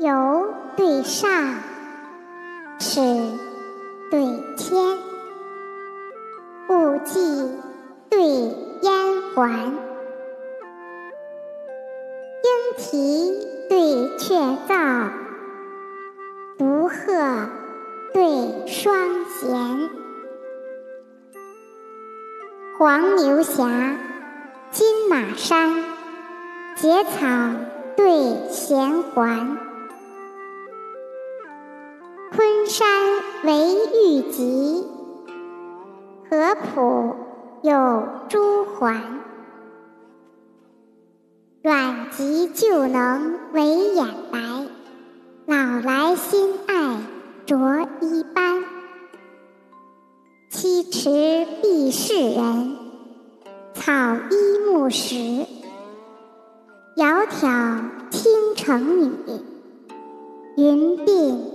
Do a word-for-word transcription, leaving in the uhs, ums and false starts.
游对上，尺对天，雾霁对烟环，莺啼对雀噪，独鹤对双弦。黄牛峡，金马山，结草对弦环。昆山为玉极，合浦有朱环。阮籍旧能为眼白，老来新爱着衣斑。七尺避世人，草衣木石。窈窕倾城女，云鬓